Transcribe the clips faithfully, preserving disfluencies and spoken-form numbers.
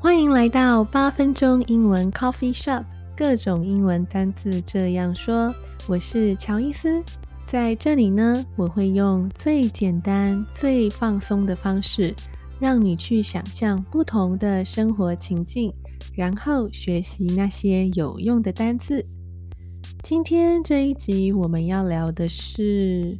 歡迎來到八分鐘英文 Coffee Shop， 各種英文單字這樣說。我是喬伊斯，在這裡呢，我會用最簡單、最放鬆的方式，讓你去想象不同的生活情境，然後學習那些有用的單字。今天這一集我們要聊的是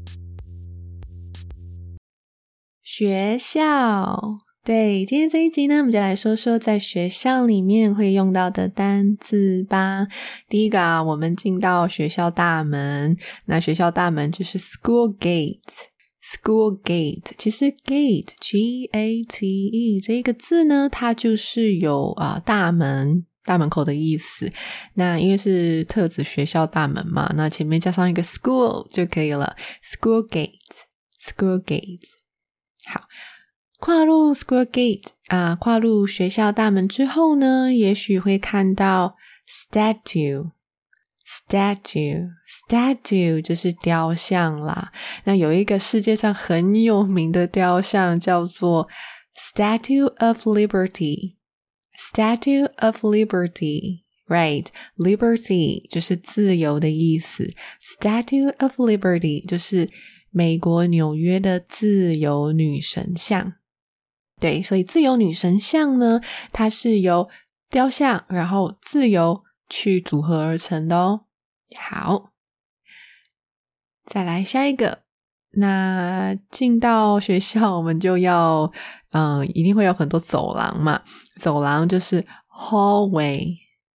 學校。對，今天這一集呢，我們就來說說在學校裡面會用到的單字吧。第一個啊，我們進到學校大門，那學校大門就是 school gate。school gate， 其實 gate G A T E 這個字呢，它就是有啊、呃、大門大門口的意思。那因為是特指學校大門嘛，那前面加上一個 school 就可以了。school gate，school gate。好。跨入 school gate 啊，跨入學校大門之後呢，也許會看到 statue statue statue 就是雕像啦。那有一個世界上很有名的雕像叫做 Statue of Liberty Statue of Liberty Right, Liberty 就是自由的意思， Statue of Liberty 就是美國紐約的自由女神像。對，所以自由女神像呢，它是由雕像然後自由去組合而成的哦。好，再來下一個。那進到學校我們就要嗯，一定會有很多走廊嘛，走廊就是 hallway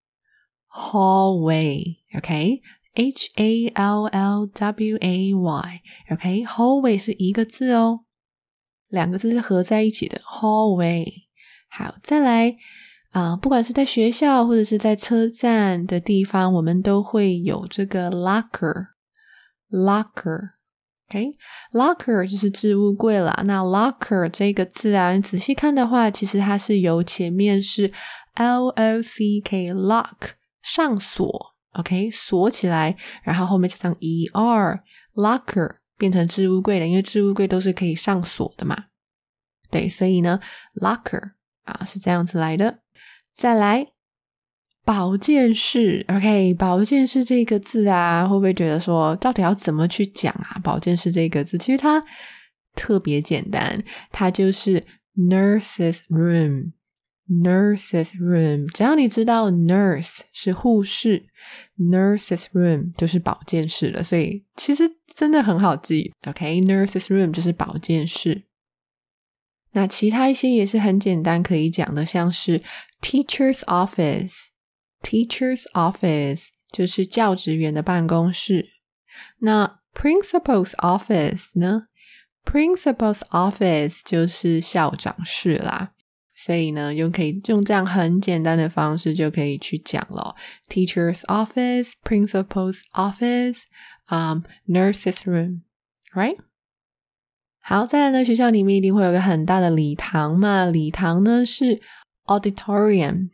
hallway OK H A L L W A Y OK hallway 是一個字哦，兩個字是合在一起的 hallway。 好，再來啊、呃，不管是在學校或者是在車站的地方，我們都會有這個 locker locker OK locker 就是置物櫃啦。那 locker 這個字啊，你仔細看的話，其實它是由前面是 L O C K lock 上鎖 OK 鎖起來，然後後面加上 E R locker變成置物櫃了，因為置物櫃都是可以上鎖的嘛。對，所以呢 locker 啊是這樣子來的。再來保健室 OK 保健室這個字啊，會不會覺得說到底要怎麼去講啊？保健室這個字其實它特別簡單，它就是 nurse's room nurse's room， 只要你知道 nurse 是護士， nurse's room 就是保健室了，所以其實真的很好記 OK nurse's room 就是保健室。那其他一些也是很簡單可以講的，像是 teacher's office teacher's office 就是教職員的辦公室。那 principal's office 呢， principal's office 就是校長室啦，所以呢，又可以用這樣很簡單的方式就可以去講了。Teacher's office, principal's office, um, nurse's room, right? 好，再來呢，學校裡面一定會有個很大的禮堂嘛，禮堂呢是 auditorium,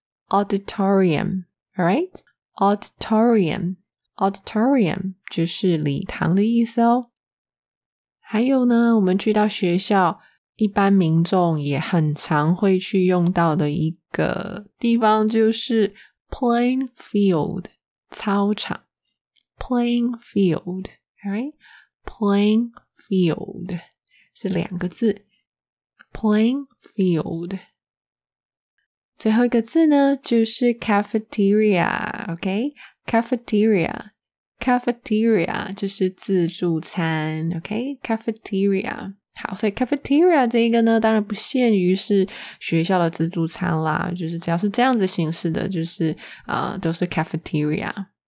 auditorium, alright? Auditorium, auditorium 就是禮堂的意思哦。還有呢，我們去到學校，一般民眾也很常會去用到的一個地方就是 playing field 操場 playing field alright playing field 是兩個字 playing field。 最後一個字呢就是 cafeteria OK cafeteria cafeteria 就是自助餐 OK cafeteria。好，所以 cafeteria 這一個呢，當然不限於是學校的自助餐啦，就是只要是這樣子形式的，就是呃，都是 cafeteria。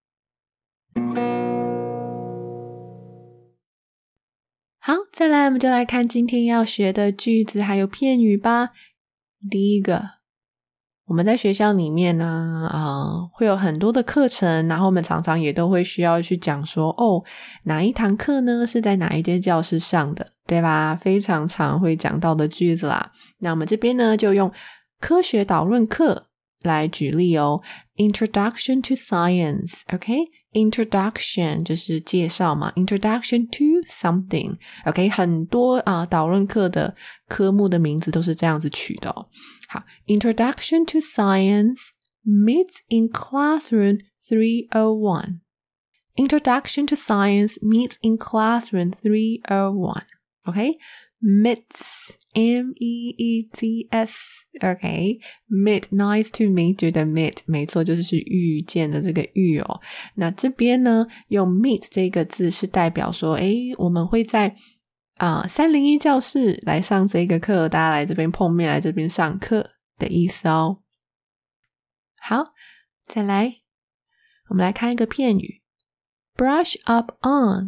好，再來我們就來看今天要學的句子還有片語吧。第一個，我們在學校裡面呢，呃，會有很多的課程，然後我們常常也都會需要去講說，哦，哪一堂課呢是在哪一間教室上的，對吧？非常常會講到的句子啦。那我們這邊呢，就用科學導論課來舉例哦。Introduction to Science OK Introduction 就是介紹嘛 Introduction to something OK 很多啊導論課的科目的名字都是這樣子取的哦。好 Introduction to Science meets in Classroom three oh one Introduction to Science meets in Classroom three oh one OK meets M E E T S OK meet nice to meet you 的 meet 沒錯就是是遇見的這個遇哦。那這邊呢用 meet 這個字是代表說誒我們會在啊三零一教室來上這個課，大家來這邊碰面，來這邊上課的意思哦。好，再來我們來看一個片語 brush up on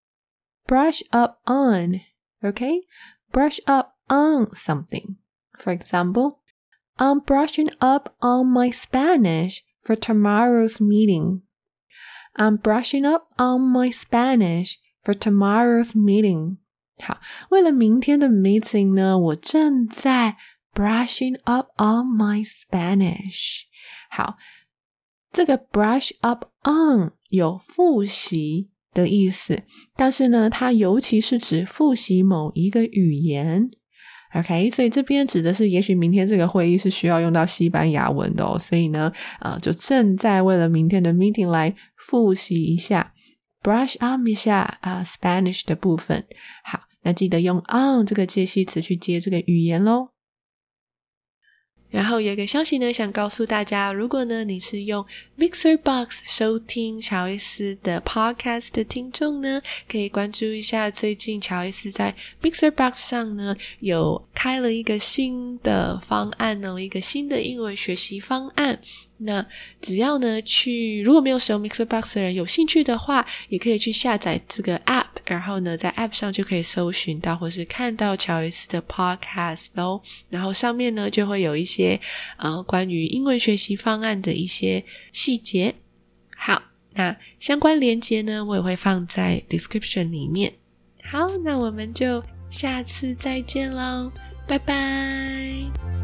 brush up on OK brush up on something. For example, I'm brushing up on my Spanish for tomorrow's meeting. I'm brushing up on my Spanish for tomorrow's meeting. 好，為了明天的 meeting 呢，我正在 brushing up on my Spanish. 好，這個 brush up on 有複習的意思，但是呢，它尤其是指複習某一個語言。OK， 所以這邊指的是也許明天這個會議是需要用到西班牙文的哦，所以呢，呃，就正在為了明天的 meeting 來複習一下 brush up 一下啊、呃、Spanish 的部分。好，那記得用 on 這個介系詞去接這個語言咯。然後有一個消息呢，想告訴大家，如果呢你是用 MixerBox 收聽喬伊斯的 Podcast 的聽眾呢，可以關注一下最近喬伊斯在 MixerBox 上呢有開了一個新的方案哦，一個新的英文學習方案。那只要呢去如果沒有使用 MixerBox 的人有興趣的話，也可以去下載這個 App， 然後呢在 App 上就可以搜尋到或是看到喬伊斯的 Podcast 哦。然後上面呢就會有一些呃關於英文學習方案的一些細節。好，那相關連結呢我也會放在 description 裡面。好，那我們就下次再見咯，拜拜。